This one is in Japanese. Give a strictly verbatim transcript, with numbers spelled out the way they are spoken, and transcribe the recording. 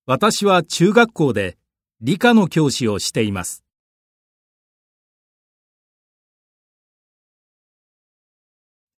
私は中学校で理科の教師をしています。